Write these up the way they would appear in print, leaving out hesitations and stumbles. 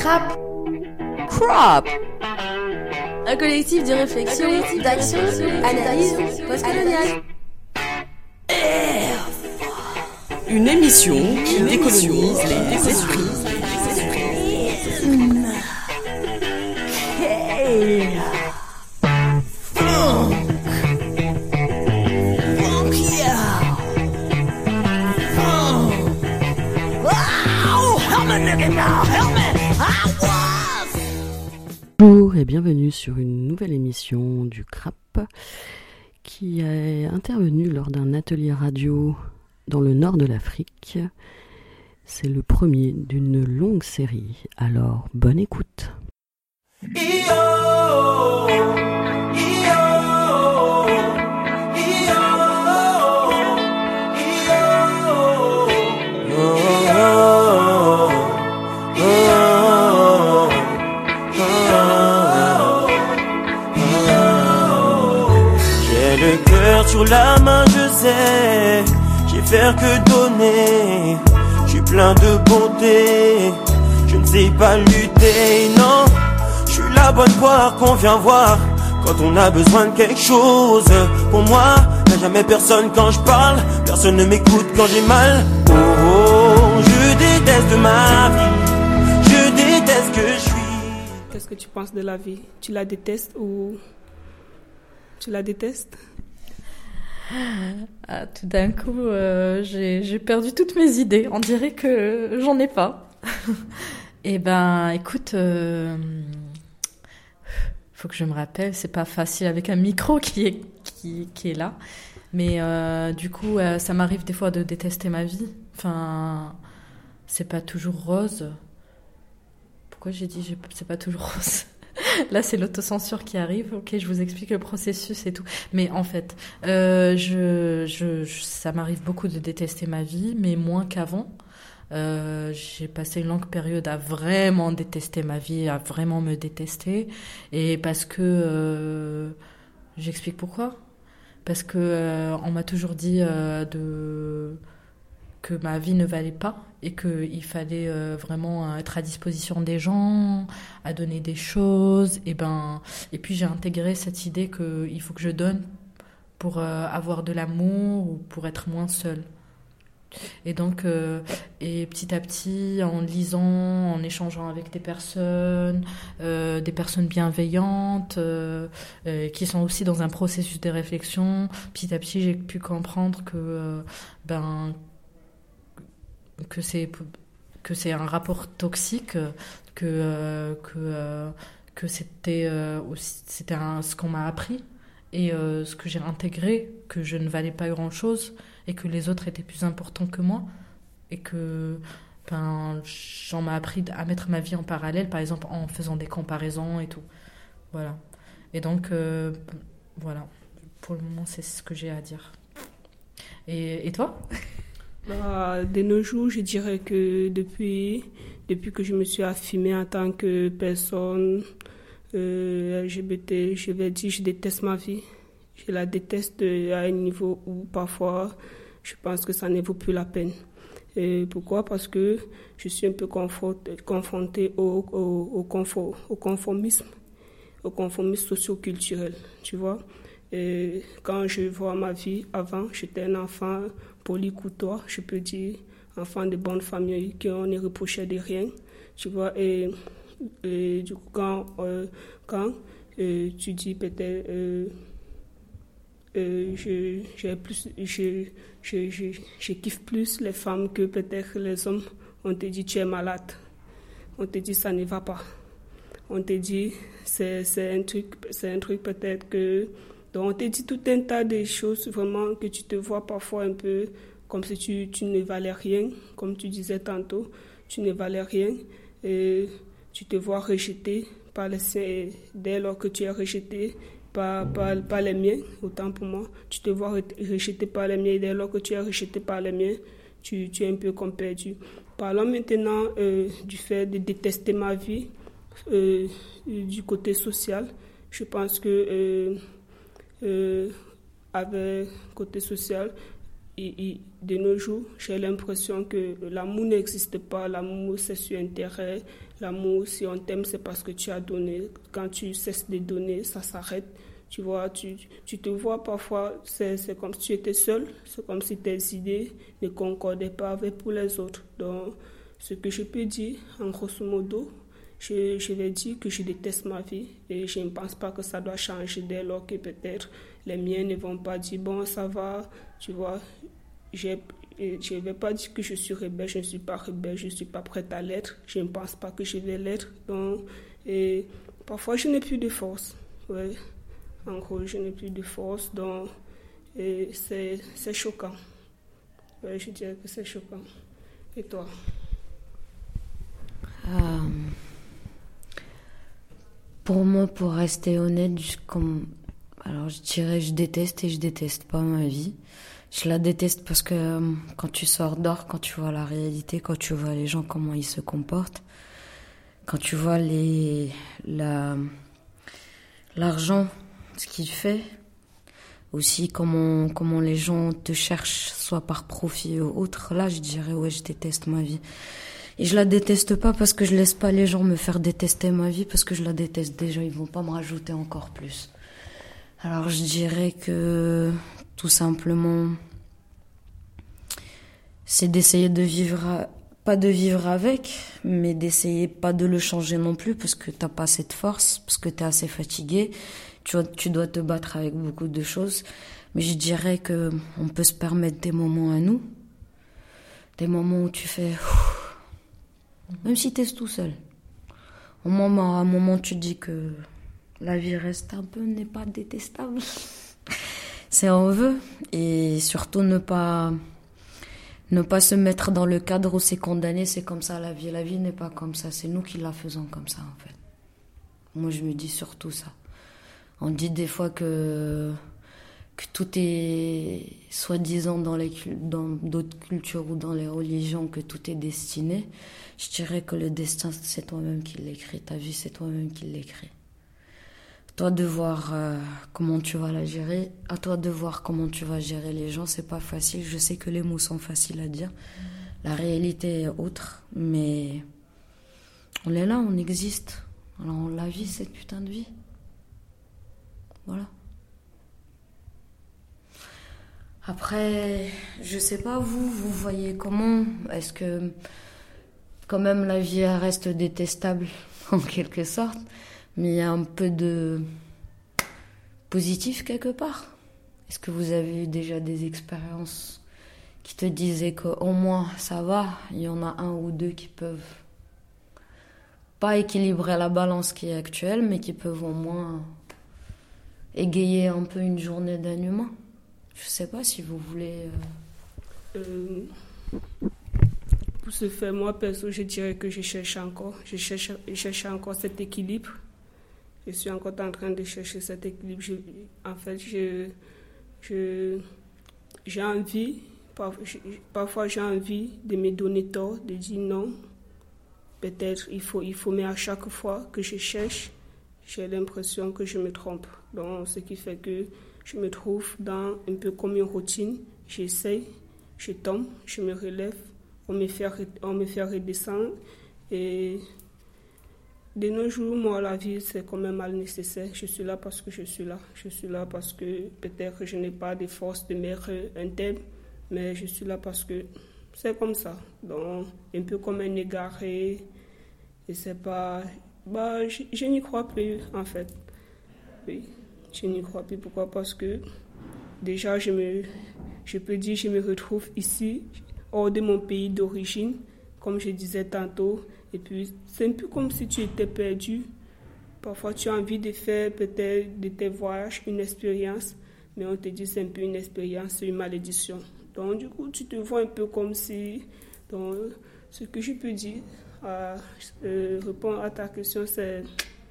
CRAP. CRAP. Un collectif de réflexion, d'action, d'analyse postcoloniale. Une émission qui décolonise les esprits. Bonjour et bienvenue sur une nouvelle émission du CRAP qui est intervenue lors d'un atelier radio dans le nord de l'Afrique. C'est le premier d'une longue série, alors bonne écoute. Sur la main je sais, j'ai faire que donner. Je suis plein de bonté, je ne sais pas lutter, non. Je suis la bonne poire qu'on vient voir quand on a besoin de quelque chose. Pour moi, y'a jamais personne quand je parle, personne ne m'écoute quand j'ai mal. Oh, oh, je déteste ma vie, je déteste que je suis. Qu'est-ce que tu penses de la vie? Tu la détestes ou tu la détestes? Ah, tout d'un coup, j'ai perdu toutes mes idées. On dirait que j'en ai pas. Eh ben, écoute, faut que je me rappelle. C'est pas facile avec un micro qui est là. Mais du coup, ça m'arrive des fois de détester ma vie. Enfin, c'est pas toujours rose. Pourquoi j'ai dit c'est pas toujours rose? Là, c'est l'autocensure qui arrive. Ok, je vous explique le processus et tout. Mais en fait, ça m'arrive beaucoup de détester ma vie, mais moins qu'avant. J'ai passé une longue période à vraiment détester ma vie, à vraiment me détester. Et parce que... j'explique pourquoi. Parce que on m'a toujours dit que ma vie ne valait pas et qu'il fallait vraiment être à disposition des gens, à donner des choses. Et puis j'ai intégré cette idée qu'il faut que je donne pour avoir de l'amour ou pour être moins seule. Et donc, et petit à petit, en lisant, en échangeant avec des personnes bienveillantes, qui sont aussi dans un processus de réflexion, petit à petit, j'ai pu comprendre que c'est un rapport toxique, que c'était ce qu'on m'a appris et ce que j'ai intégré, que je ne valais pas grand-chose et que les autres étaient plus importants que moi et que j'en m'a appris à mettre ma vie en parallèle, par exemple en faisant des comparaisons et tout. Voilà. Et donc, voilà. Pour le moment, c'est ce que j'ai à dire. Et toi ? De nos jours, je dirais que depuis que je me suis affirmée en tant que personne LGBT, je vais dire je déteste ma vie. Je la déteste à un niveau où parfois je pense que ça ne vaut plus la peine. Et pourquoi? Parce que je suis un peu confrontée au conformisme socio-culturel, tu vois. Et quand je vois ma vie avant, j'étais un enfant poli courtois, je peux dire, enfant de bonne famille qui on ne reprochait de rien, tu vois. Et du coup, quand tu dis peut-être je kiffe plus les femmes que peut-être les hommes. On te dit tu es malade, on te dit ça ne va pas, on te dit c'est un truc peut-être que... Donc on te dit tout un tas de choses vraiment que tu te vois parfois un peu comme si tu ne valais rien, comme tu disais tantôt, tu ne valais rien et tu te vois rejeté par les siens. Dès lors que tu es rejeté par les miens, autant pour moi, tu te vois rejeté par les miens et dès lors que tu es rejeté par les miens, tu es un peu comme perdu. Parlons maintenant du fait de détester ma vie du côté social. Je pense que avec côté social, de nos jours, j'ai l'impression que l'amour n'existe pas. L'amour, c'est sur intérêt. L'amour, si on t'aime, c'est parce que tu as donné. Quand tu cesses de donner, ça s'arrête. Tu vois, tu te vois parfois, c'est comme si tu étais seul. C'est comme si tes idées ne concordaient pas avec pour les autres. Donc, ce que je peux dire, en grosso modo, je vais dire que je déteste ma vie et je ne pense pas que ça doit changer dès lors que peut-être les miens ne vont pas dire bon ça va, tu vois. Je ne vais pas dire que je suis rebelle, je ne suis pas rebelle, je ne suis pas prête à l'être, je ne pense pas que je vais l'être. Donc, et parfois je n'ai plus de force, ouais. En gros je n'ai plus de force, donc et c'est choquant. Ouais, je dirais que c'est choquant. Et toi? Pour moi, pour rester honnête, alors je dirais je déteste et je déteste pas ma vie. Je la déteste parce que quand tu sors dehors, quand tu vois la réalité, quand tu vois les gens, comment ils se comportent, quand tu vois l'argent, ce qu'il fait, aussi comment les gens te cherchent, soit par profit ou autre, là je dirais ouais, je déteste ma vie. Et je la déteste pas parce que je laisse pas les gens me faire détester ma vie, parce que je la déteste déjà, ils vont pas me rajouter encore plus. Alors je dirais que tout simplement, c'est d'essayer de vivre, pas de vivre avec, mais d'essayer pas de le changer non plus, parce que t'as pas assez de force, parce que t'es assez fatigué, tu dois te battre avec beaucoup de choses. Mais je dirais que on peut se permettre des moments à nous, des moments où tu fais... Même si t'es tout seul. À un moment, tu te dis que la vie reste un peu, n'est pas détestable. C'est on veut. Et surtout ne pas se mettre dans le cadre où c'est condamné, c'est comme ça la vie. La vie n'est pas comme ça, c'est nous qui la faisons comme ça en fait. Moi je me dis surtout ça. On dit des fois que tout est soi-disant dans d'autres cultures ou dans les religions, que tout est destiné. Je dirais que le destin, c'est toi-même qui l'écris. Ta vie, c'est toi-même qui l'écris. Toi de voir comment tu vas la gérer. À toi de voir comment tu vas gérer les gens. C'est pas facile. Je sais que les mots sont faciles à dire. La réalité est autre. Mais on est là, on existe. Alors on la vit, cette putain de vie. Voilà. Après, je sais pas, vous voyez comment? Est-ce que quand même la vie reste détestable en quelque sorte, mais il y a un peu de positif quelque part? Est-ce que vous avez eu déjà des expériences qui te disaient qu'au moins ça va, il y en a un ou deux qui peuvent pas équilibrer la balance qui est actuelle, mais qui peuvent au moins égayer un peu une journée d'un humain? Je sais pas si vous voulez... Pour ce faire, moi, perso, je dirais que je cherche encore. Je cherche encore cet équilibre. Je suis encore en train de chercher cet équilibre. En fait, j'ai envie, parfois j'ai envie de me donner tort, de dire non. Peut-être il faut, mais à chaque fois que je cherche, j'ai l'impression que je me trompe. Donc, ce qui fait que je me trouve dans un peu comme une routine. J'essaye, je tombe, je me relève, on me fait redescendre. Et de nos jours, moi, la vie, c'est quand même mal nécessaire. Je suis là parce que je suis là. Je suis là parce que peut-être je n'ai pas de force de mettre un thème, mais je suis là parce que c'est comme ça. Donc, un peu comme un égaré. Et c'est pas... je n'y crois plus, en fait. Oui. Je n'y crois plus. Pourquoi? Parce que déjà, je peux dire, je me retrouve ici, hors de mon pays d'origine, comme je disais tantôt. Et puis, c'est un peu comme si tu étais perdu. Parfois, tu as envie de faire peut-être de tes voyages une expérience, mais on te dit c'est un peu une expérience, c'est une malédiction. Donc, du coup, tu te vois un peu comme si... Donc, ce que je peux dire, répondre à ta question, c'est...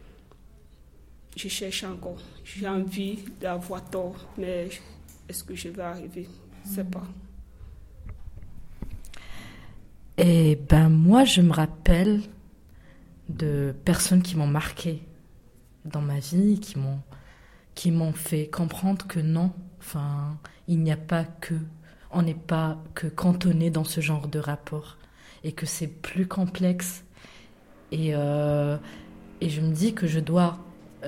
Je cherche encore. J'ai envie d'avoir tort, mais est-ce que je vais arriver? Je ne sais pas. Et ben moi, je me rappelle de personnes qui m'ont marqué dans ma vie, qui m'ont fait comprendre que non, enfin, il n'y a pas que on n'est pas que cantonné dans ce genre de rapport et que c'est plus complexe. Et je me dis que je dois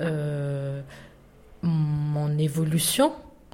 mon évolution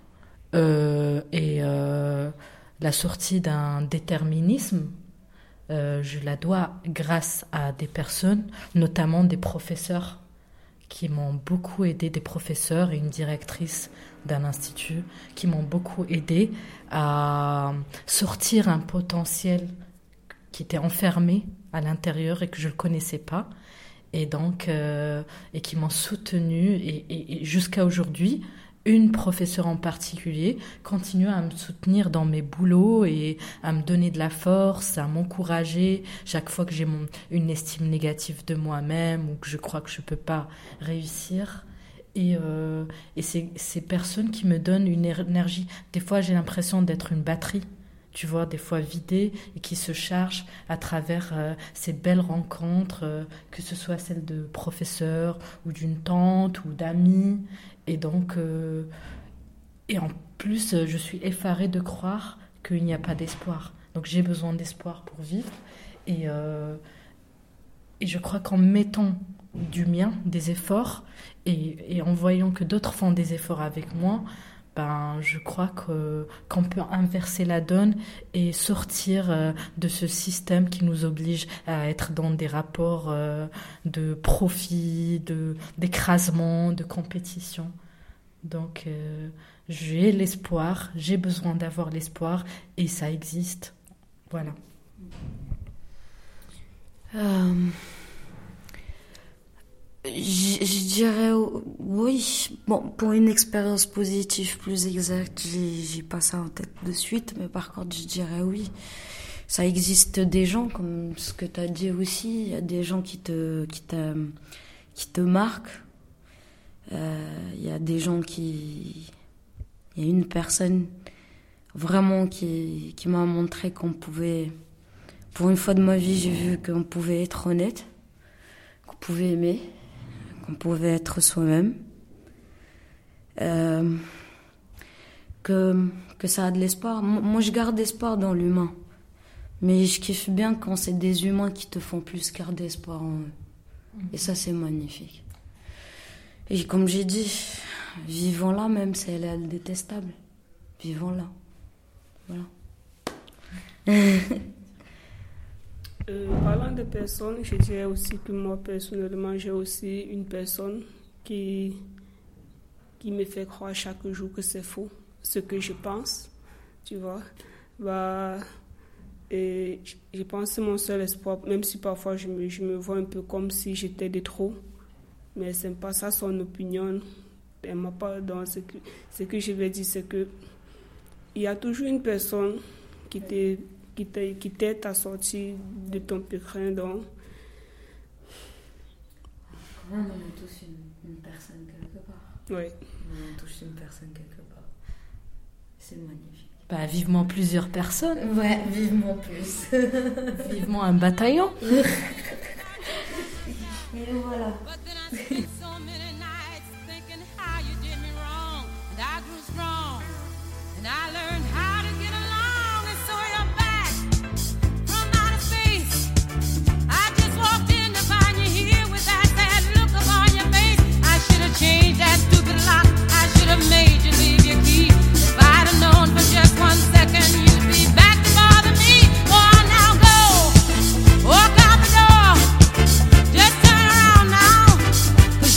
et la sortie d'un déterminisme, je la dois grâce à des personnes, notamment des professeurs qui m'ont beaucoup aidé, des professeurs et une directrice d'un institut qui m'ont beaucoup aidé à sortir un potentiel qui était enfermé à l'intérieur et que je ne connaissais pas, et donc et qui m'ont soutenue et jusqu'à aujourd'hui. Une professeure en particulier continue à me soutenir dans mes boulots et à me donner de la force, à m'encourager chaque fois que j'ai une estime négative de moi-même ou que je crois que je ne peux pas réussir. Et ces personnes qui me donnent une énergie. Des fois, j'ai l'impression d'être une batterie, tu vois, des fois vidée et qui se charge à travers ces belles rencontres, que ce soit celles de professeurs ou d'une tante ou d'amis. Et donc, et en plus, je suis effarée de croire qu'il n'y a pas d'espoir. Donc, j'ai besoin d'espoir pour vivre. Et je crois qu'en mettant du mien, des efforts, et en voyant que d'autres font des efforts avec moi, ben, je crois qu'on peut inverser la donne et sortir de ce système qui nous oblige à être dans des rapports de profit, d'écrasement, de compétition. Donc, j'ai l'espoir, j'ai besoin d'avoir l'espoir et ça existe. Voilà. Je dirais oui. Bon, pour une expérience positive plus exacte, j'ai pas ça en tête de suite, mais par contre, je dirais oui. Ça existe des gens, comme ce que tu as dit aussi, il y a des gens qui te marquent. Il y a des gens il y a une personne vraiment qui m'a montré qu'on pouvait, pour une fois de ma vie, j'ai vu qu'on pouvait être honnête, qu'on pouvait aimer, qu'on pouvait être soi-même, que ça a de l'espoir. Moi, je garde espoir dans l'humain, mais je kiffe bien quand c'est des humains qui te font plus garder espoir en eux. Et ça, c'est magnifique. Et comme j'ai dit, vivons-la même si elle est détestable. Vivons-la. Voilà. Parlant de personnes, je dirais aussi que moi, personnellement, j'ai aussi une personne qui me fait croire chaque jour que c'est faux, ce que je pense, tu vois. Et je pense que c'est mon seul espoir, même si parfois je me vois un peu comme si j'étais de trop. Mais ce n'est pas ça son opinion. Elle m'a pas dans ce que je vais dire, c'est que il y a toujours une personne qui t'aide à sortir de ton pétrin. Donc, on est tous une personne quelque part. Oui. On est tous une personne quelque part. C'est magnifique. Bah, vivement plusieurs personnes. Ouais, vivement plus. Vivement un bataillon. Et voilà. Change that stupid lock. I should have made you leave your key. If I'd have known for just 1 second you'd be back to bother me. Oh, now go, walk out the door. Just turn around now, 'cause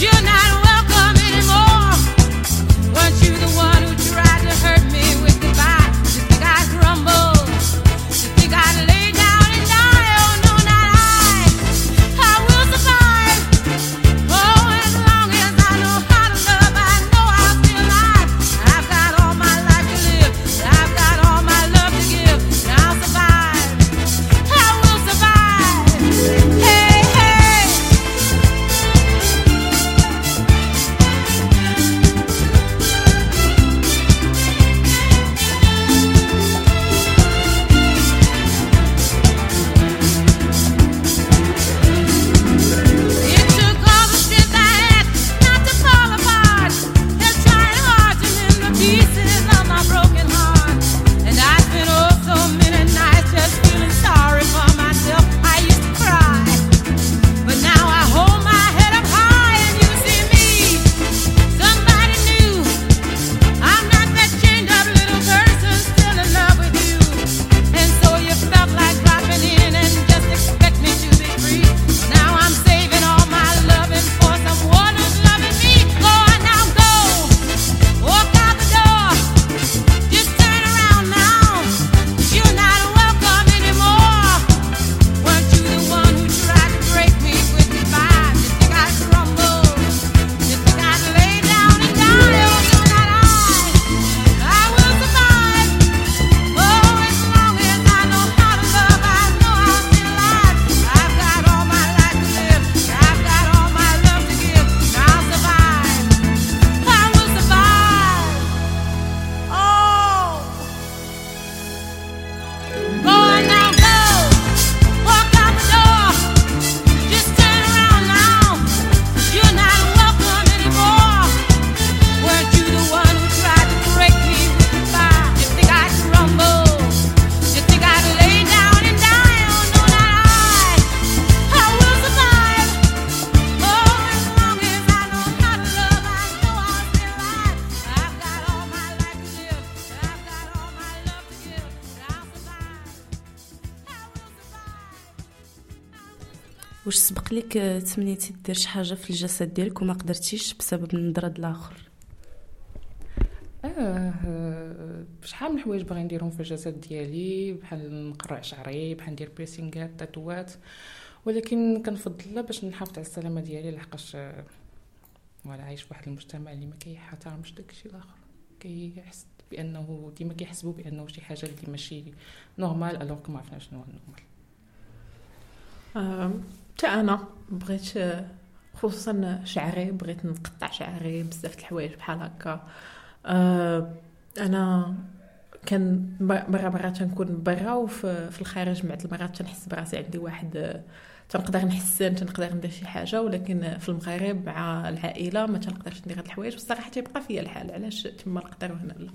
واش سبق لك تمنيتي دير شي حاجه في الجسد ديالك وما قدرتيش بسبب النظره ديال الاخر؟ شحال من حوايج باغي نديرهم في الجسد ديالي، بحال نقرع شعري، بحال ندير بيرسينغات، تاتوات، ولكن كنفضل باش نحافظ على السلامه ديالي لحقاش ولا عايش في واحد المجتمع اللي ما كيحترمش داكشي الاخر، كيحس بانه ديما كيحسبوا بانه شي حاجه اللي ماشي نورمال الوغ ما عرفناش شنو هو النورمال. حتى انا بغيت خصوصا شعري، بغيت نقطع شعري بزاف د الحوايج بحال هكا. انا كان مرات تنكون برا وفي الخارج بعض المرات تنحس براسي عندي واحد تنقدر نحسن، تنقدر ندير شي حاجه، ولكن في المغرب مع العائله ما تنقدرش ندير هاد الحوايج، والصراحه تيبقى فيا الحال. علاش تما نقدر وهنا لا؟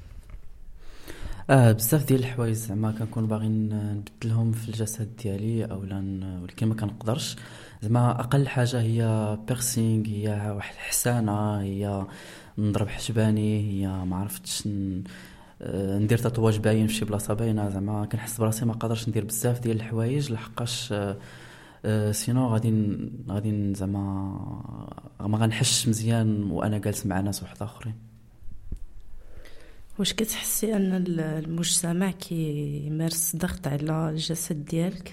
بزاف ديال الحوايج زعما كنكون باغي نبدلهم في الجسد ديالي اولا ولكن ما كنقدرش. زعما اقل حاجه هي بيرسينغ، هي واحد الحسانه، هي نضرب حجباني، هي ما عرفتش ندير تاتواج باين في شي بلاصه باينه. زعما كنحس براسي ما قادرش ندير بزاف ديال الحوايج لحقاش سينو غادي زعما ما غنحسش مزيان وانا جالس مع ناس واحد اخرين. واش كتحسي ان المجتمع كيمارس ضغط على الجسد ديالك؟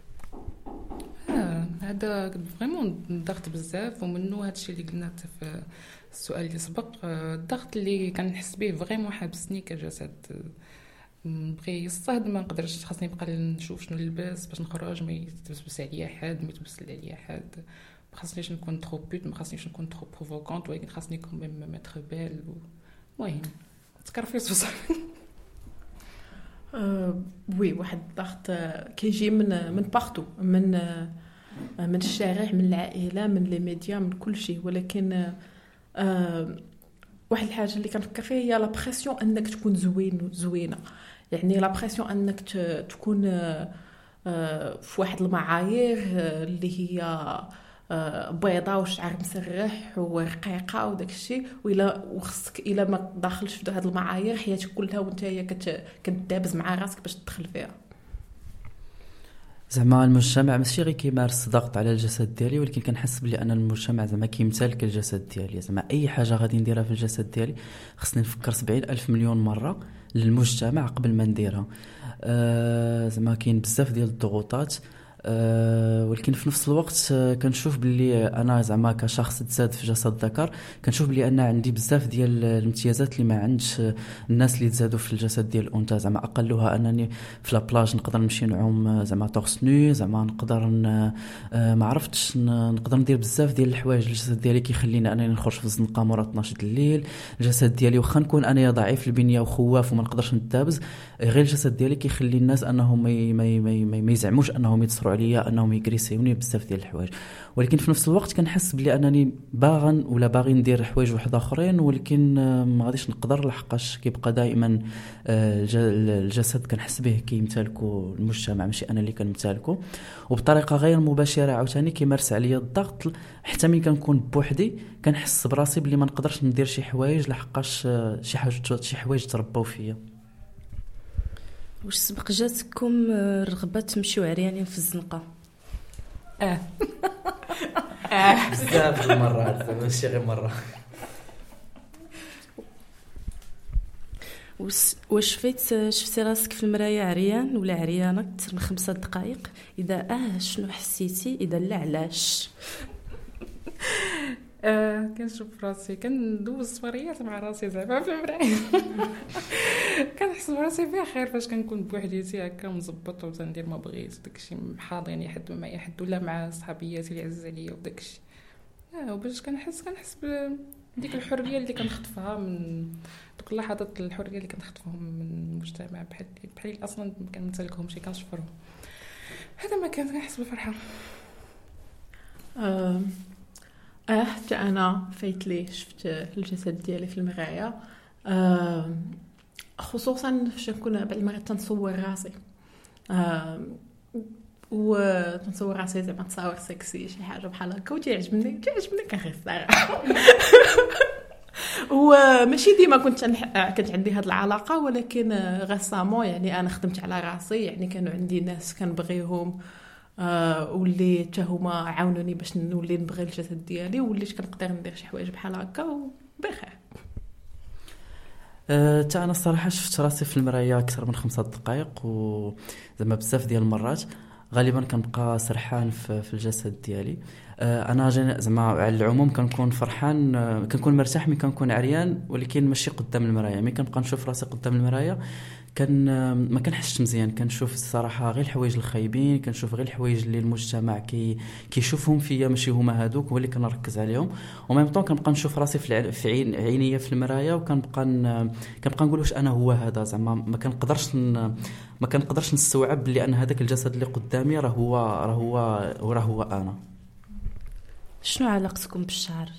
هذا فريمون ضغط بزاف، ومنه هادشي اللي قلنا في السؤال اللي سبق. الضغط اللي كنحس به فريمون حابسني كجسد، بغي يصهد ما نقدرش، خاصني نبقى نشوف شنو نلبس باش نخرج، ما يتبس عليا حد، ما يتبس عليا حد، ما خاصنيش نكون ترو بوت، ما خاصنيش نكون ترو بروفوكونت، ولكن خاصني نكون ميم ماتر بيل. المهم تكرفيس بصح. وي واحد الضغط كيجي من بارتو، من الشارع، من العائله، من لي ميديا، من كل شيء. ولكن واحد الحاجه اللي كنفكر فيها هي لا بريسيون انك تكون زوينه، يعني لا بريسيون انك تكون في واحد المعايير اللي هي بيضاء وشعر مسرح ورقيقه وداك الشيء، وخصك الا ما داخلش في هذه المعايير حياتك كلها وانت كتدابز مع راسك باش تدخل فيها. زعما المجتمع ماشي غير كيمارس ضغط على الجسد ديالي، ولكن كنحس بلي ان المجتمع زعما كيمتلك الجسد ديالي. زعما اي حاجه غادي نديرها في الجسد ديالي خصني نفكر 70,000 مليون مره للمجتمع قبل ما نديرها. زعما كاين بزاف ديال الضغوطات، ولكن في نفس الوقت كنشوف بلي انا زعما كشخص تزاد في جسد ذكر، كنشوف بلي انا عندي بزاف ديال الامتيازات اللي ما عندش الناس اللي تزادوا في الجسد ديال الانثى. زعما اقلها انني في لابلاج نقدر نمشي نعوم زعما تورس نو، زعما نقدر ما عرفتش نقدر ندير بزاف ديال الحوايج. الجسد ديالي كيخليني انني نخرج في الزنقه مورا 12 الليل. الجسد ديالي واخا نكون انا ضعيف البنيه وخواف وما نقدرش نتابز، غير الجسد ديالي كيخلي الناس انهم ما يزعموش انهم يتصروا عليا، انهم يكريسيوني بزاف ديال الحوايج. ولكن في نفس الوقت كنحس بلي انني باغي ندير حوايج واحد اخرين، ولكن ما غاديش نقدر لحقاش كيبقى دائما الجسد كنحس به كيمتلكو المجتمع، ماشي انا اللي كنمتلكو. وبطريقه غير مباشره عاوتاني كيمارس عليا الضغط، حتى ملي كنكون بوحدي كنحس براسي بلي ما نقدرش ندير شي حوايج لحقاش شي حوايج تربوا فيا. واش سبق جاتكم رغبه تمشيو عريانين في الزنقه؟ بزاف المرات، ماشي غير مره. واش شفتي راسك في المرايه عريان ولا عريانه اكثر من 5 دقائق؟ اذا شنو حسيتي؟ اذا لا علاش؟ كنشوف راسي كندوز سفريات مع راسي زعما في المرايه. كنحس براسي بخير فاش كنكون بوحديتي هكا مزبط وتندير ما بغيت داكشي، حاضرني حد معايا حد ولا مع صحابياتي اللي عز عليا وداكشي. وباش كنحس بديك الحريه اللي كنخطفها من دوك اللحظات، الحريه اللي كنخطفهم من المجتمع بحال اصلا ما كنمتلكهمش، كنشفرهم. هذا ما كنحس بفرحه. حتى انا فايت لي شفت الجسد ديالي في المرايه، خصوصا فاش نكون بعض المرات تنصور راسي، وتنصور راسي زعما تصاور سكسي شي حاجه بحال هكا، وتعجبني كنخير الصراحه. وماشي ديما كانت عندي هاد العلاقه، ولكن غسامو يعني انا خدمت على راسي، يعني كانوا عندي ناس كنبغيهم واللي حتى هما عاونوني باش نولي نبغي الجسد ديالي، وليت كنقدر ندير شي حوايج بحال هكا وبخير. تا انا الصراحه شفت راسي في المرايه اكثر من 5 دقائق، وزعما بزاف ديال المرات غالبا كنبقى سرحان في الجسد ديالي. انا زعما على العموم كنكون فرحان، كنكون مرتاح ملي كنكون عريان، ولكن ماشي قدام المرايه. ملي كنبقى نشوف راسي قدام المرايه ما كنحسش مزيان، كنشوف الصراحه غير الحوايج الخايبين، كنشوف غير الحوايج اللي المجتمع كيشوفهم فيا ماشي هما هادوك، هو اللي كنركز عليهم. وميم طون كنبقى نشوف راسي في عينيا في المرايه، وكنبقى نقول واش انا هو هذا. زعما ما كنقدرش نستوعب بلي ان هذاك الجسد اللي قدامي راه هو انا. شنو علاقتكم بالشعر؟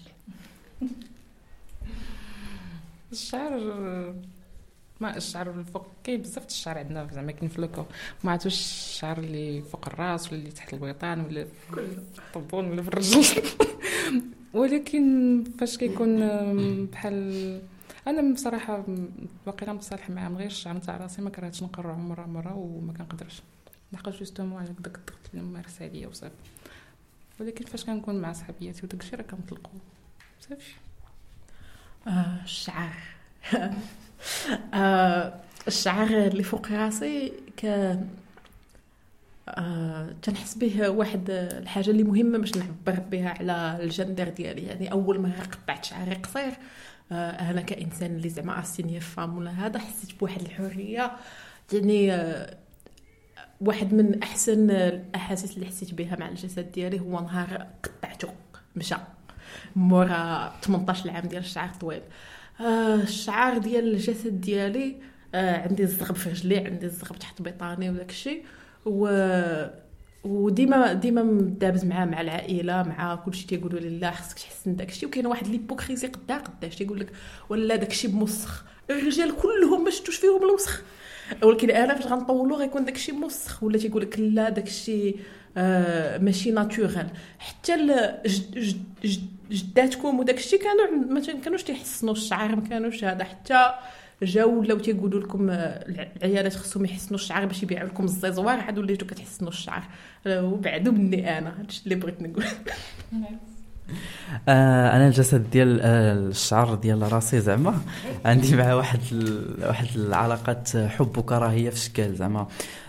الشعر الفوق كاين بزاف الشعر عندنا، زعما كاين في لوكو، ما عرفتش الشعر اللي فوق الراس ولا اللي تحت البيطان ولا في الطبون ولا في الرجل. ولكن فاش كيكون بحال انا بصراحه باقي متصالح مع غير الشعر نتاع راسي، ما كرهتش نقرعو مره وما كنقدرش نلقى جوستومون على داك الضغط اللي ممارس عليا وصافي. ولكن فاش كنكون مع صحابياتي وداك الشيء راه كنطلقوا صافي. الشعر الشعر اللي فوق راسي تنحس به واحد الحاجه اللي مهمه باش نعبر بها على الجندر ديالي. يعني اول ما قطعت شعري قصير انا كانسان اللي زعما اسيني فام ولا هذا، حسيت بواحد الحريه. يعني واحد من احسن الاحاسيس اللي حسيت بها مع الجسد ديالي هو نهار قطعته مشى مورا 18 عام ديال الشعر طويل. الشعر ديال الجسد ديالي عندي الزغب في رجلي، عندي الزغب تحت بيطاني وداك الشيء، وديما دابز مع العائله مع كلشي تيقولوا لي لا خصك تحسن داك الشيء. وكاين واحد ليبوكريزي قداش تيقول لك ولا داك الشيء بمسخ، الرجال كلهم ما شفتوش فيهم الوسخ، ولكن انا فاش غنطولوا غيكون داك الشيء مسخ. ولا تيقول لك لا داك الشيء ماشي ناتورال. حتى جداتكم وداك الشيء ما كانوش تيحسنوا الشعر، ما كانوش هذا. حتى جاو ولاو تيقولوا لكم العيالات خصهم يحسنوا الشعر باش يبيعوا لكم الزيزوار، عاد وليتو كتحسنوا الشعر. وبعدو مني انا هادشي اللي بغيت نقول. انا الجسد ديال الشعر ديال راسي زعما عندي مع واحد العلاقه حب وكراهيه في شكل. زعما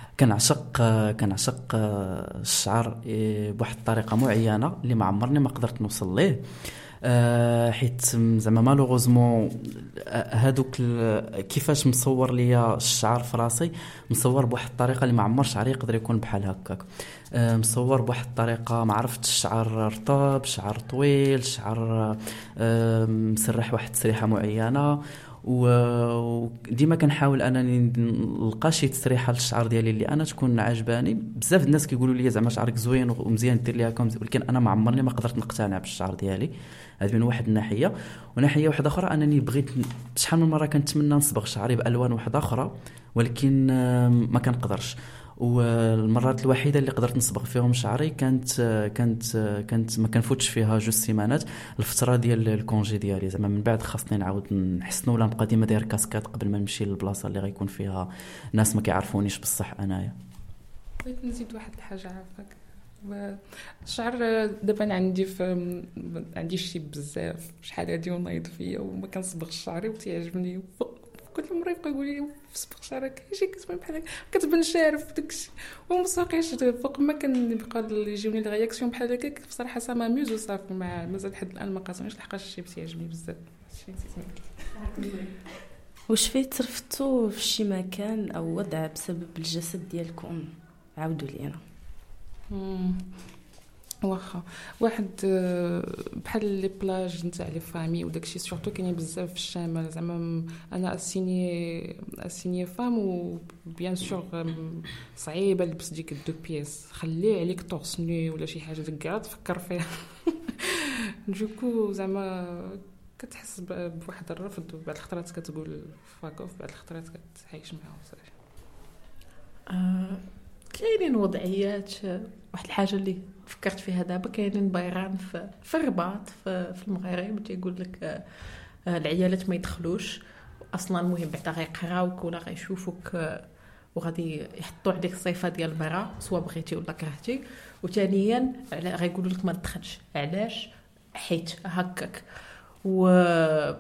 كنعشق الشعر بواحد الطريقه معينه اللي ما عمرني ما قدرت نوصل ليه، حيت زعما مالوغوزمون هادوك كيفاش مصور ليا الشعر في راسي مصور بواحد الطريقه اللي ما عمر شعري يقدر يكون بحال هكاك. مصور بواحد الطريقه ما عرفتش، الشعر رطب، شعر طويل، شعر مسرح واحد التسريحه معينه. وديما كنحاول انني نلقى شي تسريحه للشعر ديالي اللي انا تكون عجباني. بزاف الناس كيقولوا لي زعما شعرك زوين ومزيان دير ليها هكا، ولكن انا ما عمرني ما قدرت نقتنع بالشعر ديالي. هذه من واحد الناحيه. وناحيه واحده اخرى انني بغيت شحال من مره كنتمنى نصبغ شعري بالوان واحده اخرى، ولكن ما كنقدرش. والمرات الوحيده اللي قدرت نصبغ فيهم شعري كانت ما كنفوتش فيها 2 سيمانات، الفتره ديال الكونجي ديالي. زعما من بعد خاصني نعاود نحسنوا ولا نبقى ديما داير كاسكات قبل ما نمشي للبلاصه اللي غيكون فيها ناس ما كيعرفونيش بصح انايا. بغيت نزيد واحد الحاجه عافاك. الشعر دابا عندي شي بزاف شحال هادي ونايض فيا وما كنصبغش شعري وتيعجبني. كل مره يبقى يقول لي صبغ شعرك شي كتبان بحال كتبان شارف داكشي ومساقيش فوق ما كنبقى يجيوني الرياكسيون بحال هكاك. بصراحه سا ماميوز وصافي. مع مازال لحد الان ما قاسمش لحقاش الشيء تيعجبني بزاف. واش فيه ترفتوا في شي مكان او وضع بسبب الجسد ديالكم؟ عاودوا لينا. واخا واحد بحال لي بلاج نتاع لي فامي وداكشي سورتو كاينين بزاف في الشمال. زعما انا اسيني فام وبيان سور صعيبه نلبس ديك الدو بيس، خليه عليك طورسني ولا شي حاجه ديك تفكر فيها. دوكو زعما كتحس بواحد الرفض، وبعد الخطرات كتقول فاكوف، بعد الخطرات كتعيش معاه صافي. كاينين وضعيات. واحد الحاجه اللي فكرت فيها دابا، كاينين بايران في الرباط في المغرب تيقول لك العيالات ما يدخلوش اصلا، المهم بعدا غيقراوك ولا غيشوفوك وغادي يحطوا عليك الصفه ديال المراه سواء بغيتي ولا كرهتي. وثانيا غيقولوا لك ما تدخلش. علاش؟ حيت هكاك و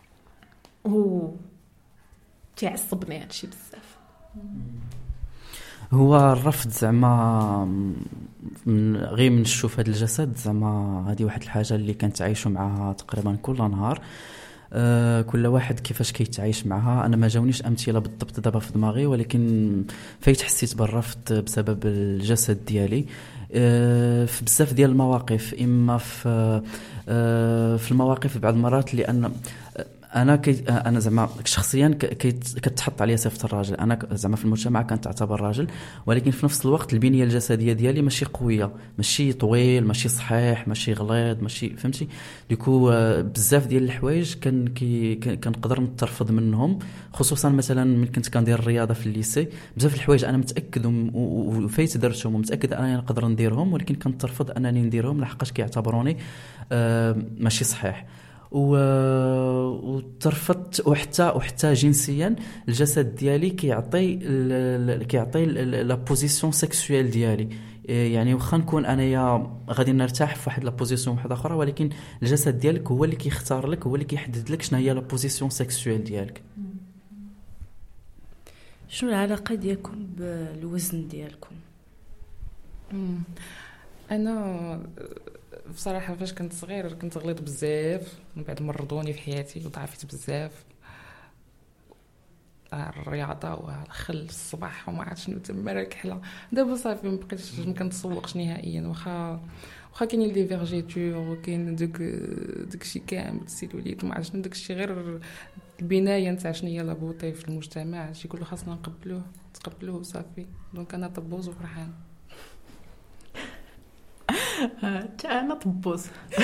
تعصبني هادشي بزاف. هو الرفض زعما غير من نشوف هذا الجسد زعما هذه واحد الحاجه اللي كنتعايشوا معها تقريبا كل نهار. كل واحد كيفاش كيتعايش معها. انا ما جاونيش امثله بالضبط دابا في دماغي، ولكن فايت حسيت بالرفض بسبب الجسد ديالي في بزاف ديال المواقف. اما في المواقف بعض المرات لان انا زعما شخصيا كتحط عليا صفه الراجل. انا زعما في المجتمع كنتعتبر راجل، ولكن في نفس الوقت البنيه الجسديه ديالي ماشي قويه، ماشي طويل، ماشي صحيح، ماشي غليظ، ماشي فهمتي. ديكو بزاف ديال الحوايج كنقدر نترفض منهم، خصوصا مثلا ملي كنت كندير الرياضه في الليسي. بزاف الحوايج انا متاكد وفايت درتهم ومتاكد انني نقدر نديرهم، ولكن كنترفض انني نديرهم لحقاش كيعتبروني ماشي صحيح. وترفضت. وحتى جنسيا الجسد ديالي كيعطي لا بوزيسيون سيكسويل ديالي. يعني واخا نكون انايا غادي نرتاح في واحد لا بوزيسيون واحده اخرى، ولكن الجسد ديالك هو اللي كيختار لك، هو اللي كيحدد لك شنو هي لا بوزيسيون سيكسويل ديالك. شنو العلاقه ديالكم بالوزن ديالكم؟ انا بصراحه فاش كنت صغير كنت غليظ بزاف، من بعد مرضوني في حياتي وضعفت بزاف. الرياضه والخل الصباح وما عرفت شنو تما راكحله. دابا صافي ما بقيتش ما كنتسوقش نهائيا، واخا كاينين لي فيرجيتور وكاين داكشي كامل السيلوليت ما عرفت شنو داكشي، غير البنايه نتاع شنو هي لابوطي في المجتمع. شي يقولوا خاصنا نتقبلوه صافي. دونك انا طبوز وفرحان. انا طبوز.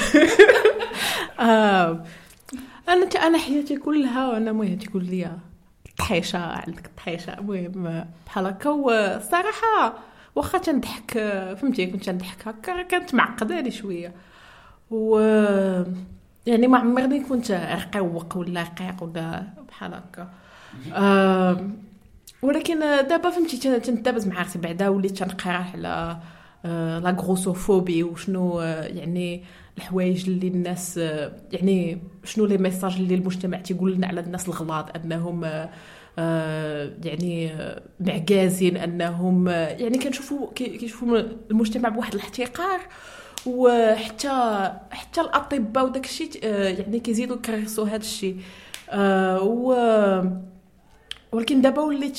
انا حياتي كلها وانا مويه تقول لي طحيشه عندك طحيشه، المهم بحال هكا. والصراحه واخا تنضحك فهمتي، كنت تنضحك هكا كانت معقده لي شويه. و يعني ما عمرني كنت رقيق ولا رقيق ولا بحال هكا. ولكن دابا فهمتي تندابز مع راسي بعدا وليت تنقرا على لا غروسوفوبي وشنو يعني الحوايج اللي الناس يعني شنو لي ميساج اللي المجتمع تيقول لنا على الناس الغلاط انهم يعني معجازين، انهم يعني كيشوفوا المجتمع بواحد الاحتقار. وحتى الاطباء وداك الشيء يعني كيزيدوا يكرسوا هذا الشيء. ولكن دابا وليت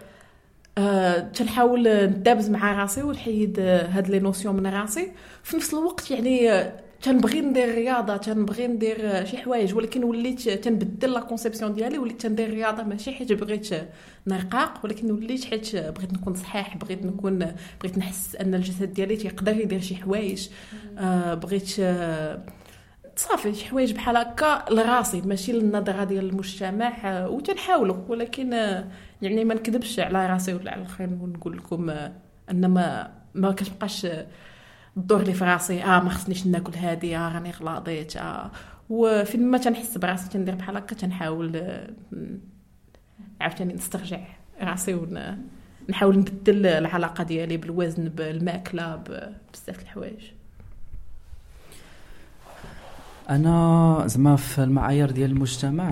تنحاول ندابز مع راسي ونحيد هاد لي نوسيون من راسي. في نفس الوقت يعني تنبغي ندير رياضه، تنبغي ندير شي حوايج، ولكن وليت تنبدل لا كونسيبسيون ديالي. وليت تندير رياضه ماشي حيت بغيت نرقاق، ولكن وليت حيت بغيت نكون صحيح، بغيت نحس ان الجسد ديالي تيقدر يدير شي حوايج. بغيت صافي شي حوايج بحال هكا لراسي ماشي للنظره ديال المجتمع. وتنحاولوا، ولكن يعني ما نكذبش على راسي ولا على الاخرين ونقول لكم ان ما كتبقاش الدور اللي في راسي ما خصنيش ناكل هذه، راني غلاضيت. وفين ما تنحس براسي تندير بحال هكا تنحاول عاوتاني نسترجع راسي ونحاول نبدل العلاقه ديالي بالوزن، بالماكله، بزاف الحوايج. انا زعما في المعايير ديال المجتمع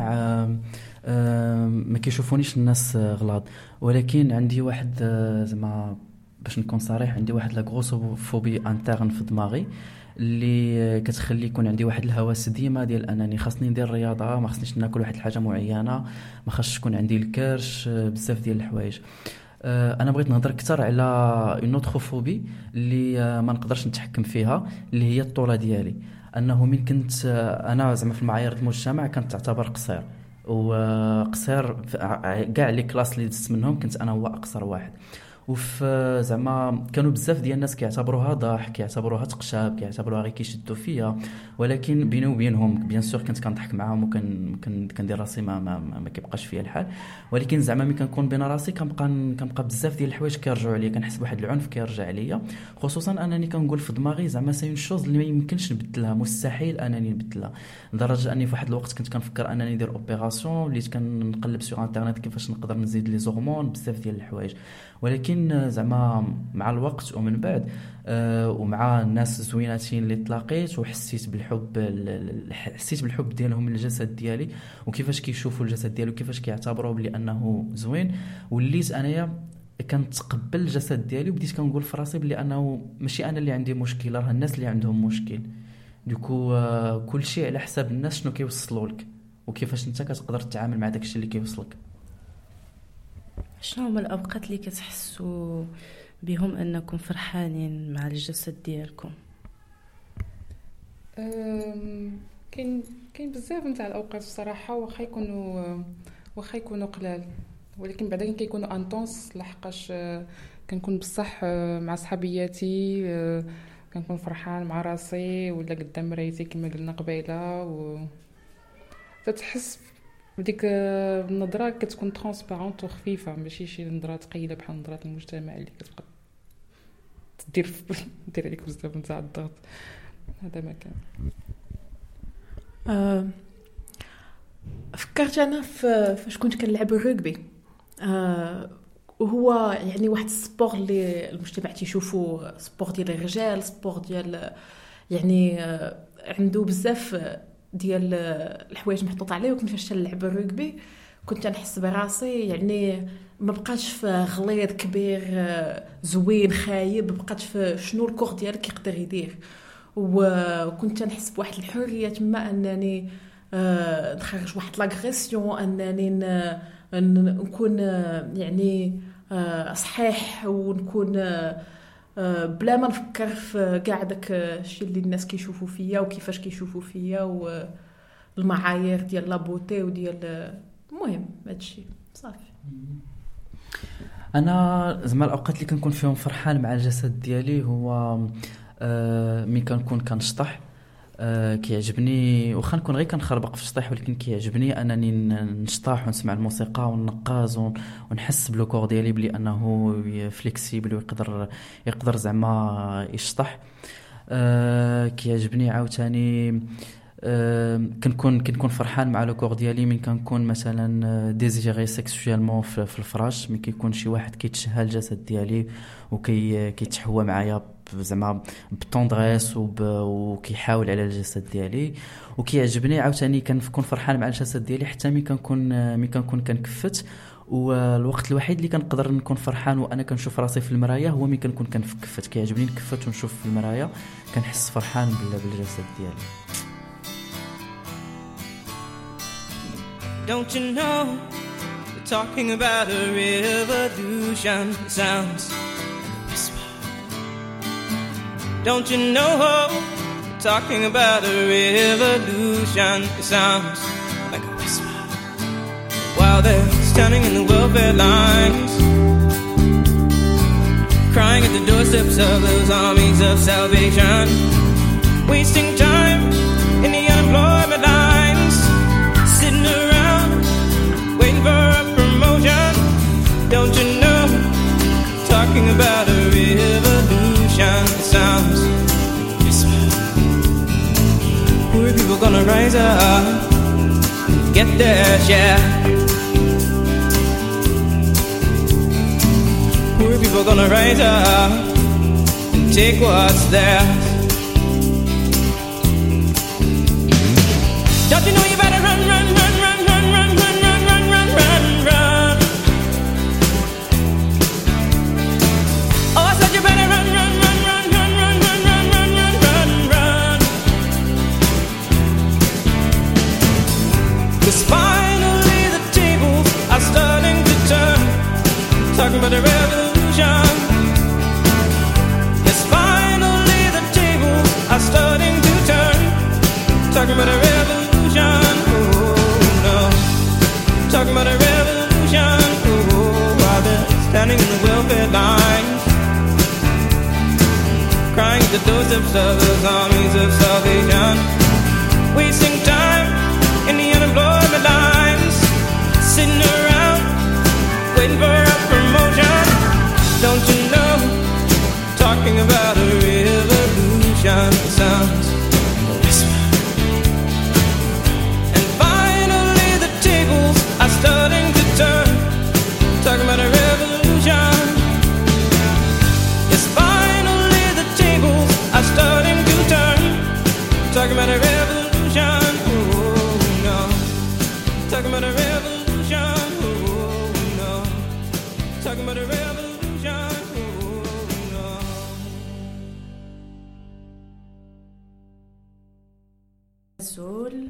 ما كيشوفونيش الناس غلاط، ولكن عندي واحد زعما باش نكون صريح، عندي واحد لا غروسوفوبي انترن في دماغي اللي كتخلي يكون عندي واحد الهوس ديما ديال انني خاصني ندير رياضه، ما خاصنيش ناكل واحد الحاجه معينه، ما خاصش يكون عندي الكرش، بزاف ديال الحوايج. انا بغيت نهضر اكثر على اون اوتر فوبي اللي ما نقدرش نتحكم فيها، اللي هي الطوله ديالي. انه من كنت انا زعما في المعايير المجتمع كنت تعتبر قصير، وقصير كاع لي كلاس اللي دزت منهم كنت انا هو اقصر واحد. وفي زعما كانوا بزاف ديال الناس كيعتبروها ضحك، كيعتبروها تقشاب، كيعتبروها غير كيشدوا فيا، ولكن بيني وبينهم بيان سور كنت كنضحك معاهم وكندير راسي ما كيبقاش فيا الحال، ولكن زعما ملي كنكون بين راسي كنبقى بزاف ديال الحوايج كيرجعوا عليا، كنحس بواحد العنف كيرجع عليا، خصوصا انني كنقول في دماغي زعما سي اون شوز اللي ما يمكنش نبدلها، مستحيل انني نبدلها، لدرجه اني في واحد الوقت كنت كنفكر انني ندير اوبيراسيون، وليت كنقلب سوغ انترنت كيفاش نقدر نزيد لي زورمون بزاف ديال الحوايج، ولكن زعما مع الوقت ومن بعد ومع الناس زويناتين اللي تلاقيت وحسيت بالحب ديالهم للجسد ديالي وكيفاش كيشوفوا الجسد ديالي وكيفاش كيعتبروه بلي انه زوين، وليت انايا كنتقبل الجسد ديالي وبديت كنقول في راسي بلي انه ماشي انا اللي عندي مشكل، راه الناس اللي عندهم مشكل. دوكو كل شيء على حساب الناس شنو كيوصلوا لك وكيفاش انت كتقدر تتعامل مع داكشي اللي كيوصلك. شنو هما الاوقات اللي كتحسوا بهم انكم فرحانين مع الجسد ديالكم؟ كاين بزاف نتاع الاوقات الصراحه، واخا يكونوا قلال، ولكن بعدا كيكونوا انطونس، لحقاش كنكون بصح مع صحابياتي، كنكون فرحان مع راسي ولا قدام مرايتي كما قلنا قبيله، و تتحس بديك النظره كتكون ترانسبارونت وخفيفه، ماشي شي نظره ثقيله بحال نظره المجتمع اللي كتبقى دير عليك بزاف نتاع الضغط. هذا ما كان. فكرت انا فاش كنت كنلعب الرugby، وهو يعني واحد السبور اللي المجتمع تيشوفوه سبور ديال الرجال، سبور ديال يعني عنده بزاف ديال الحوايج محطوط عليه، وكنت فاش نلعب الرugby كنت نحس براسي يعني ما بقاش في غليظ كبير زوين خايب، بقات في شنو الكور ديالك يقدر يدير، وكنت نحس بواحد الحريه تما انني نخرج واحد لاغريسيون، انني نكون يعني صحيح، ونكون بلا ما نفكر في كاع داك الشيء اللي الناس كيشوفوا فيا وكيفاش كيشوفوا فيا والمعايير ديال لابوتي وديال المهم هادشي صافي. انا زعما الاوقات اللي كنكون فيهم فرحان مع الجسد ديالي هو ملي كنكون كنشطح، كيعجبني واخا نكون غير كنخربق في الشطيح، ولكن كيعجبني انني نشطح ونسمع الموسيقى وننقز ونحس بلو ديالي بلي انه فليكسيبل ويقدر زعما يشطح. كيعجبني عاوتاني كنكون فرحان مع لو كور ديالي من كنكون مثلا ديزيري سيكسويلمون في الفراش، ملي كيكون شي واحد كيتشهى الجسد ديالي وكيتحوى معايا زعما بطوندريس وكيحاول على الجسد ديالي. وكيعجبني عاوتاني كنكون فرحان مع الجسد ديالي حتى ملي كنكون كنكفت، والوقت الوحيد اللي كنقدر نكون فرحان وانا كنشوف راسي في المرايه هو ملي كنكون كنفكفت. كيعجبني نكفت ونشوف في المرايه كنحس فرحان بالجسد ديالي. Don't you know we're talking about a revolution? It sounds like a whisper. Don't you know we're talking about a revolution? It sounds like a whisper. While they're standing in the welfare lines, crying at the doorsteps of those armies of salvation, wasting time in the unemployment lines, sitting around waiting for a promotion. Don't you know, talking about a revolution. It sounds whisper. Poor people gonna rise up and get their share. Poor people gonna rise up and take what's theirs. Don't you know you better run, run, run, run, run, run, run, run, run, run, run, run. Oh, I said you better run, run, run, run, run, run, run, run, run, run, run, run. 'Cause finally the tables are starting to turn, talking about the revolution. Yes, finally the tables are starting to turn, talking about a revolution. Joseph's others, armies of salvation. Wasting time in the unemployment lines, sitting around waiting for a promotion. Don't you know, talking about a revolution sounds like a whisper. And finally the tables are starting to turn, talking about a revolution. Yes, finally the tables are starting to turn, talking about a revolution. Oh no, talking about a revolution. Oh no, talking about a revolution. سؤال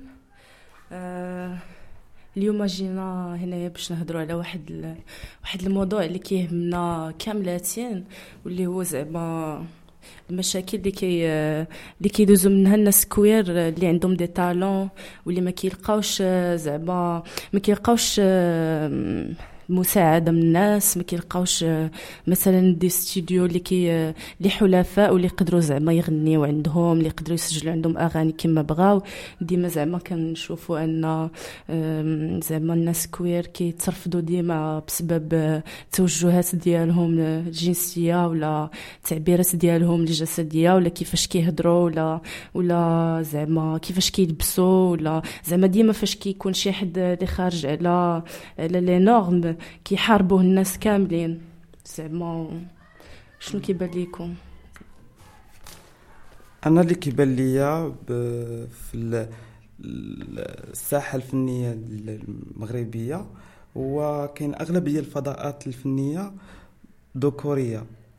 اليوم جينا هنايا باش نهضروا على واحد الموضوع اللي كيهمنا كاملاتين، واللي هو زعما المشاكل اللي كيدوزو منها الناس كوير اللي عندهم دي طالون، واللي ما كيلقاوش زعما ما كيلقاوش مساعده من الناس، ما كيلقاوش مثلا دي ستوديو اللي حلفاء واللي يقدروا زعما يغنيو عندهم، اللي يقدروا يسجلوا عندهم اغاني كما بغاو. ديما زعما كنشوفوا ان زعما الناس كوير كيترفضوا ديما بسبب التوجهات ديالهم الجنسيه ولا التعبيرات ديالهم الجسديه، ولا كيفاش كيهضروا ولا زعما كيفاش كيلبسوا، ولا زعما ديما فاش كيكون شي حد اللي خارج على لي نورم كيحاربوه الناس كاملين. زعما شنو كيبان ليكم؟ انا اللي كيبان ليا في الساحه الفنيه المغربيه هو كاين اغلبيه الفضاءات الفنيه ذكوريه،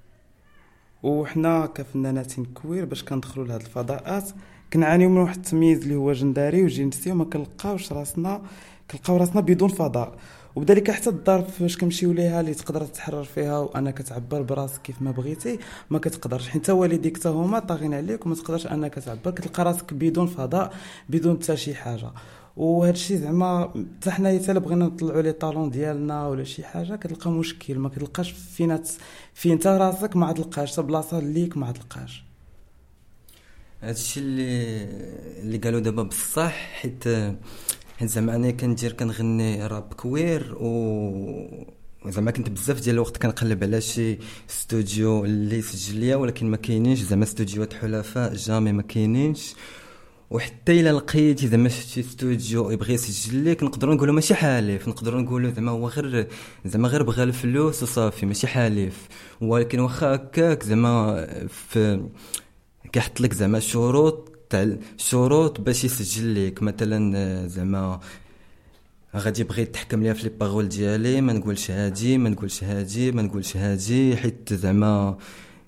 وحنا كفنانات كوير باش كندخلوا لهاد الفضاءات كنعانيو من واحد التمييز اللي هو جندري وجنسي، وما كنلقاو راسنا بدون فضاء. وبذلك حتى الدار فاش كنمشيو ليها اللي تقدر تتحرر فيها وانك تعبر براسك كيف ما بغيتي ما كتقدرش، حيت والديك حتى هما طاغين عليك وما تقدرش انك تعبر، كتلقى راسك بدون فضاء بدون حتى شي حاجه. وهذا الشيء زعما حتى حنايا حتى بغينا نطلعوا لي طالون ديالنا ولا شي حاجه كتلقى مشكل، ما كتلقاش فين انت راسك، ما تلقاش حتى بلاصه ليك ما تلقاش. هادشي اللي قالوا دابا بصح، حيت زعما انا كنغني راب كوير، و زعما كنت بزاف ديال الوقت كنقلب على شي استوديو اللي يسجل ليا، ولكن ما كاينينش زعما استوديوات حلفاء، جامي ما كاينينش. وحتى الا لقيتي زعما شي استوديو يبغي يسجل ليك نقدروا نقولوا ماشي حالف، نقدروا نقولوا زعما هو غير بغى الفلوس وصافي ماشي حالف. ولكن واخا هكاك زعما كيحط لك زعما شروط باش يسجل لك. مثلا زعما غادي يبغي يتحكم ليا في لي باغول ديالي، ما نقولش هادي ما نقولش هادي حيت زعما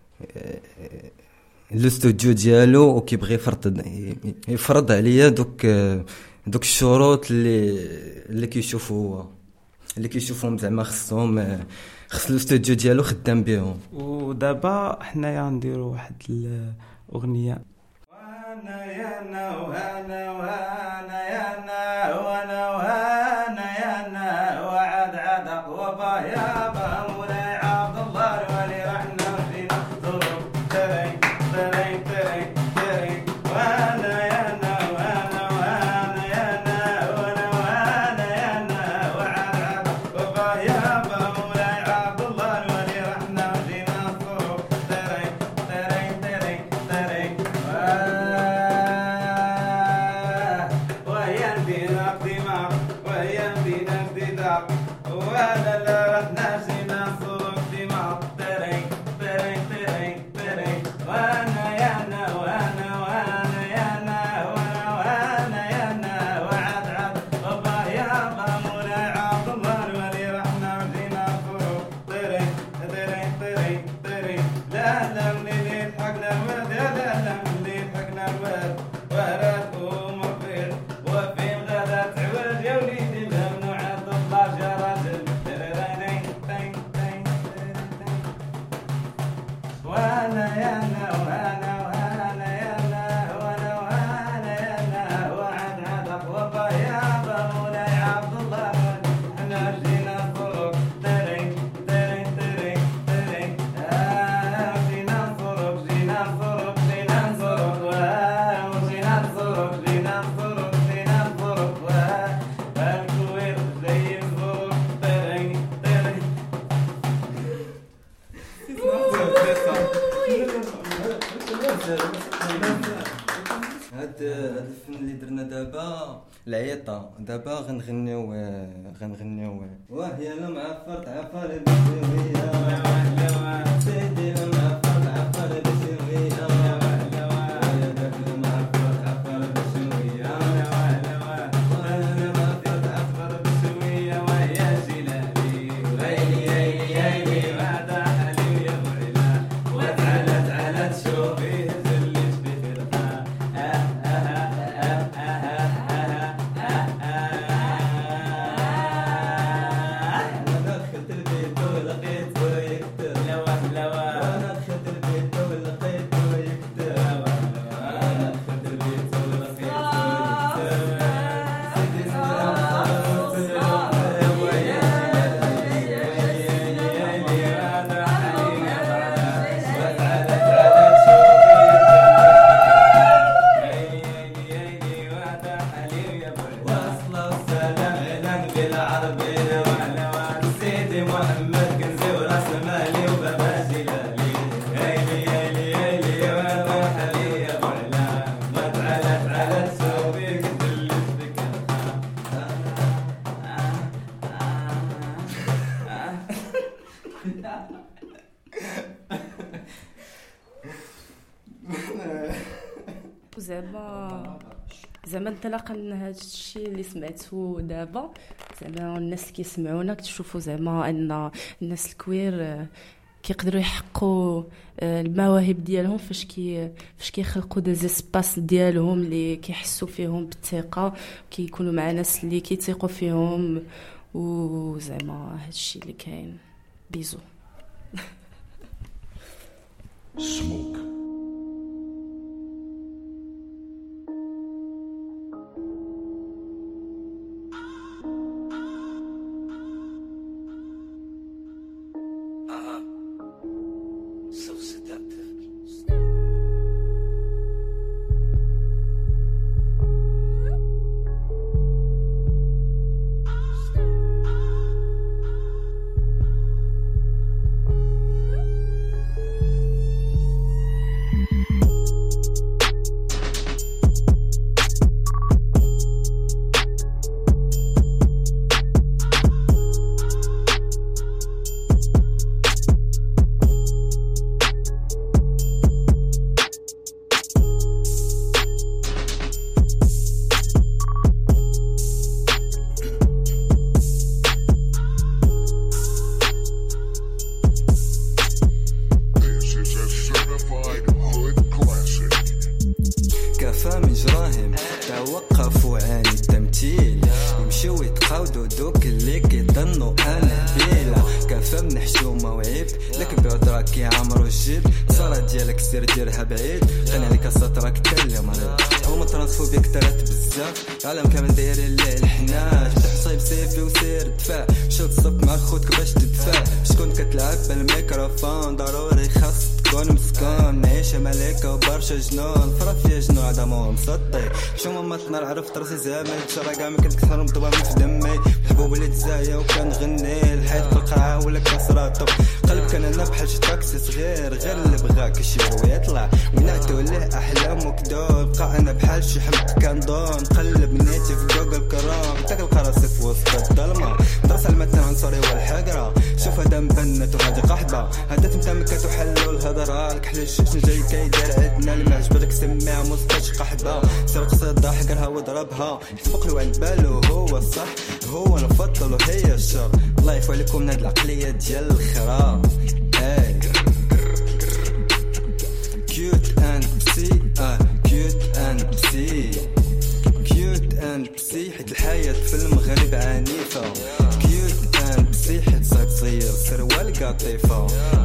الاستوديو ديالو وكيبغي يفرض عليا دوك الشروط اللي كيشوفهم زعما خص الاستوديو ديالو خدام بهم. ودابا حنايا نديروا واحد الاغنيه وانا يانا وانا وانا يانا وانا وانا يانا وعد عدق وبا يابا مولاي عبد الله الولي رحنا فينا ظروف ترين ترين ترين ترين وانا يانا وانا وانا يانا وانا وانا يانا وعد عدق وبا يابا مولاي عبد الله الولي رحنا فينا ظروف ترين ترين ترين ترين هاد الفن اللي درنا دابا العيطه دابا غنغنيو واه يا لا معفر تعفر بشويه سيدي لا معفر تعفر بشويه زعما انطلاقا من هذا الشيء اللي سمعته دابا، زعما الناس اللي كيسمعونا كتشوفوا زعما ان الناس الكوير كيقدروا يحققوا المواهب ديالهم فاش كيخلقوا دي زيسباس ديالهم اللي كيحسوا فيهم بالثقه، كيكونوا مع ناس اللي كيثيقوا فيهم، وزعما هذا الشيء اللي كاين. بيزو. Smoke. So seductive. توقفوا عن التمثيل يمشيو يتقاودوا دوك اللي كيظنوا انا بيلا كفى من حشومه وعيب لك بعذرك كيعمروا الجيب الصلاه ديالك سير ديرها بعيد قال عليك سطرك تا اللي مريض هما ترانسفوبيك ترات بزاف العالم كامل دايرين ليه الحناج تحصيب سيفي وسير دفاع شوط صب مع خوتك باش تدفع شكون كتلعب بالميكروفون ضروري خاص تكون مسكون نعيشة ملكة وبرشا جنون فرافيا جنون عدمهم مسطي شو ما تنار عرفت راسي زامل تشرى كاع ما كنت كثر مضبا في دمي الحبوب اللي تزايا وكنغني الحيط بالقرعة ولا كسراتو قلب كان انا بحال شي تاكسي صغير غير اللي بغاك يشير ويطلع ونعتو ليه احلام وكدول بقى انا بحال شي حمق كندون قلب نيتي في جوجل كرام تلقى راسي في وسط الظلمة درس المتن عنصري والحقرة شوف هذا مبنت وهذه قحبة هذا تمتمكت وحلوا الهضرة الكحل الشوش جاي كيدير عندنا اللي معجبتك سميها مستش قحبة سير قصيدة حقرها واضربها يتفق له عند بالو هو الصح هو نفضل وهي الشر الله يعفو عليكم من هاد العقلية ديال الخرا كيوت اند بسي كيوت اند بسي كيوت اند بسي حيت الحياة في المغرب عنيفة كيوت اند بسي حيت صغير سروال قطيفة